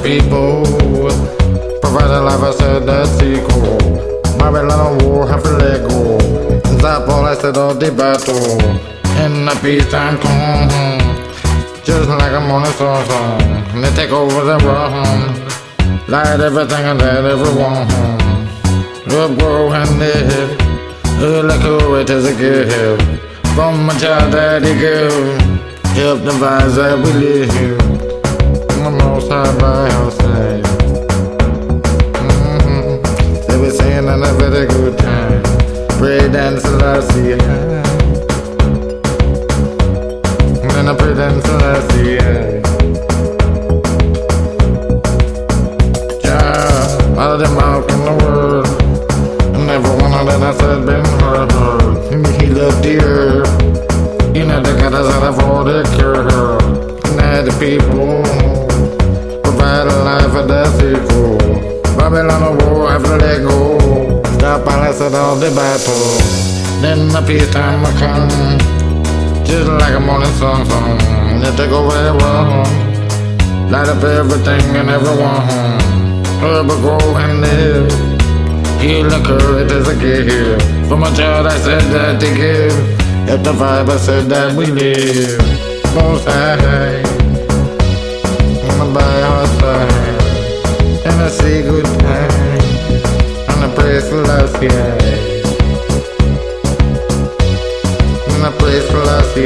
people. Provide a life, I said that's equal. Babylon war, have to let go. Stop all I said of the battle. In the peacetime come. Just like I'm on a song. And they take over the world. Light everything and let everyone. Up, grow and live. Like it is a gift. From my child daddy give. Help the vibes that we live. I'm most high by our side. They be saying on a very good time. Pray dance Selassie. And I pray dance Selassie. Yeah, out of them out in the world. And every one of them I said been heard. And he loved the earth. You know they got us out of all the cure. And the people provide a life for the sequel. Babylon war, have to let go. Stop all I said all the battle. Then the peacetime will come. Just like a morning song. And they take over the world. Light up everything and everyone. Herb will grow and live. Heal the courage as a gift. From a child I said that they give. Help the vibe I said that we live. Most high. I'm by our side. And I say good time. And I praise Selassie. And I praise Selassie.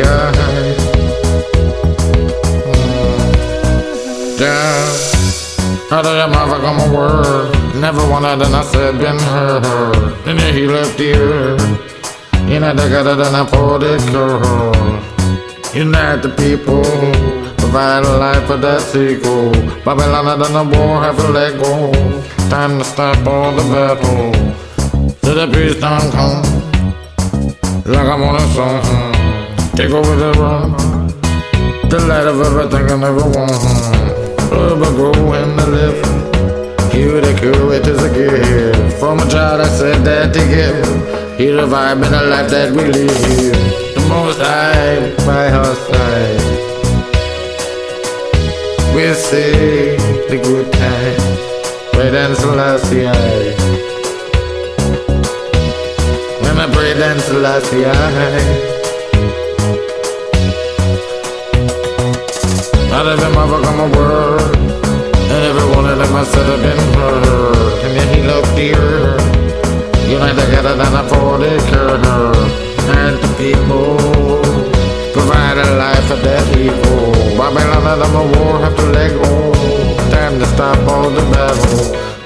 Yeah. Out of the mouth I come a word. Never one of them I said been heard. Then he left the earth. You know they got it and I poured it girl. Unite the people. Provide a life for that sequel. Babylon and the war have to let go. Time to stop all the battle. Till the peace don't come. Like I'm on a song. Take over the run. The light of everything and everyone. Urban grow and the live. Hear the courage is a gift. From a child I said that they give. Hear the vibe in the life that we live. The most high by our side. We'll say the good time. Pray dance Selassie. When I pray dance Selassie. Out of them I've come a word. And every one of them I said have been heard. And then he loved the earth. Unite together and afford it curve. And the people provide a life for their people. Babylon and the war have to let go. Time to stop all the battle.